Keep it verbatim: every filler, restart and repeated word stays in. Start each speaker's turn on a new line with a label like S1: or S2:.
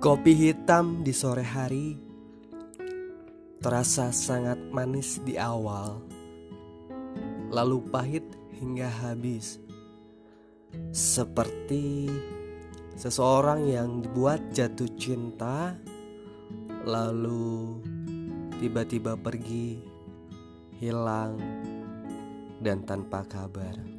S1: Kopi hitam di sore hari terasa sangat manis di awal, lalu pahit hingga habis. Seperti seseorang yang dibuat jatuh cinta, lalu tiba-tiba pergi, hilang, dan tanpa kabar.